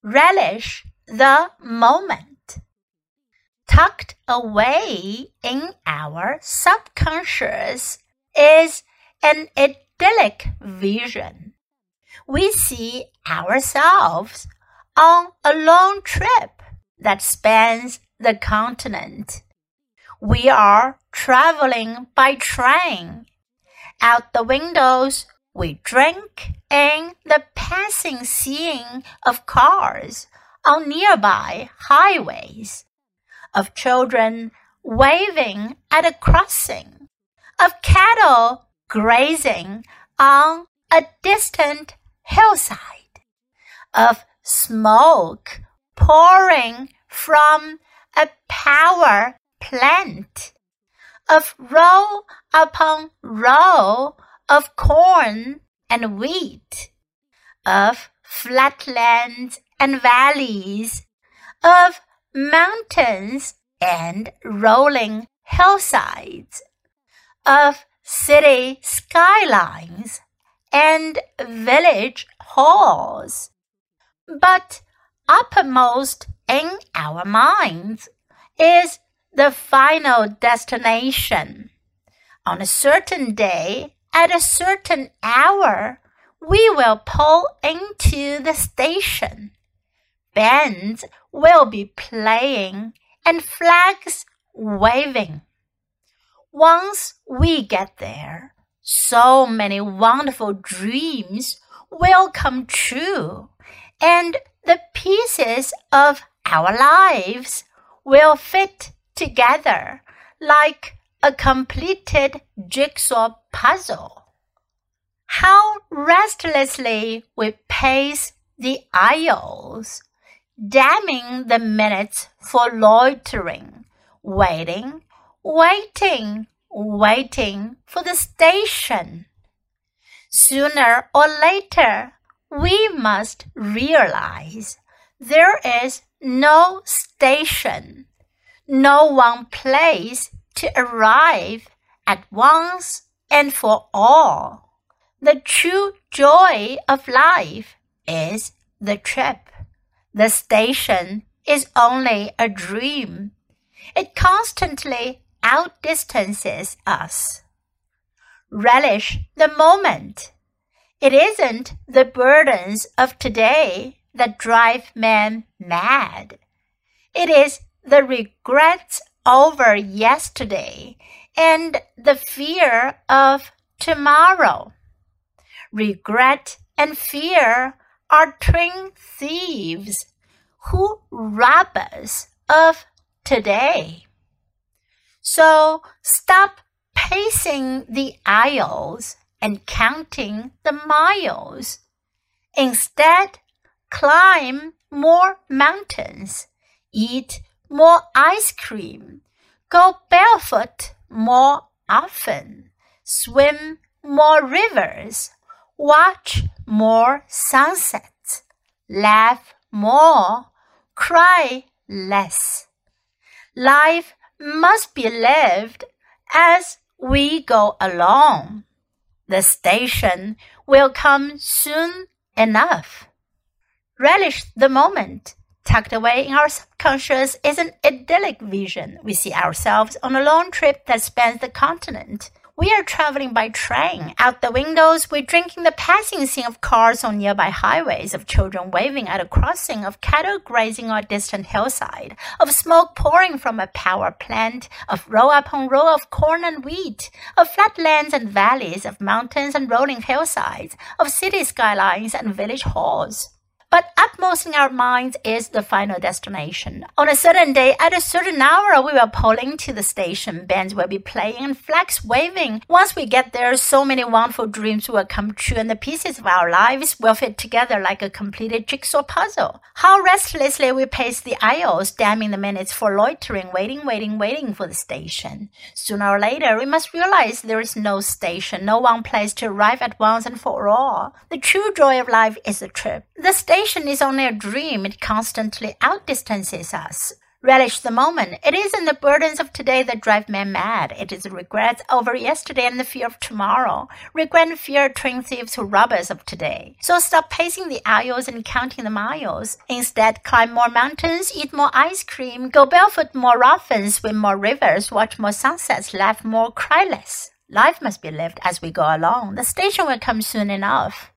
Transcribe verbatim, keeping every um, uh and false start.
relish the moment. Tucked away in our subconscious is an idyllic vision. We see ourselves on a long trip that spans the continent. We are traveling by train. Out the windows, we drink in the passing scene of cars on nearby highways, of children waving at a crossing, of cattle grazing on a distant hillside, of smoke pouring from a power plant, of row upon row of corn and wheat, of flatlands and valleys, of mountains and rolling hillsides, of city skylines and village halls. But uppermost in our minds is the final destination. On a certain day, at a certain hour, we will pull into the station. Bands will be playing and flags waving. Once we get there, so many wonderful dreams will come true, and the pieces of our lives will fit together like a completed jigsaw puzzle. How restlessly we pace the aisles, damning the minutes for loitering, waiting, waiting, waiting for the station. Sooner or later, we must realize there is no station, no one place to arrive at once and for all. The true joy of life is the trip. The station is only a dream. It constantly outdistances us. Relish the moment. It isn't the burdens of today that drive men mad. It is the regrets over yesterday and the fear of tomorrow. Regret and fear are twin thieves who rob us of today. So stop pacing the aisles and counting the miles. Instead, climb more mountains, eat more ice cream, go barefoot more often, swim more rivers, watch more sunsets, laugh more, cry less. Life must be lived as we go along. The station will come soon enough. Relish the moment. Tucked away in our subconscious is an idyllic vision. We see ourselves on a long trip that spans the continent. We are traveling by train. Out the windows, we're drinking the passing scene of cars on nearby highways, of children waving at a crossing, of cattle grazing on a distant hillside, of smoke pouring from a power plant, of row upon row of corn and wheat, of flatlands and valleys, of mountains and rolling hillsides, of city skylines and village halls. But upmost in our minds is the final destination. On a certain day, at a certain hour, we will pull into the station. Bands will be playing and flags waving. Once we get there, so many wonderful dreams will come true, and the pieces of our lives will fit together like a completed jigsaw puzzle. How restlessly we pace the aisles, damning the minutes for loitering, waiting, waiting, waiting for the station. Sooner or later, we must realize there is no station, no one place to arrive at once and for all. The true joy of life is the trip. The station is only a dream. It constantly outdistances us. Relish the moment. It isn't the burdens of today that drive men mad. It is regrets over yesterday and the fear of tomorrow. Regret and fear train thieves who rob us of today. So stop pacing the aisles and counting the miles. Instead, climb more mountains, eat more ice cream, go barefoot more often, swim more rivers, watch more sunsets, laugh more, cry less. Life must be lived as we go along. The station will come soon enough.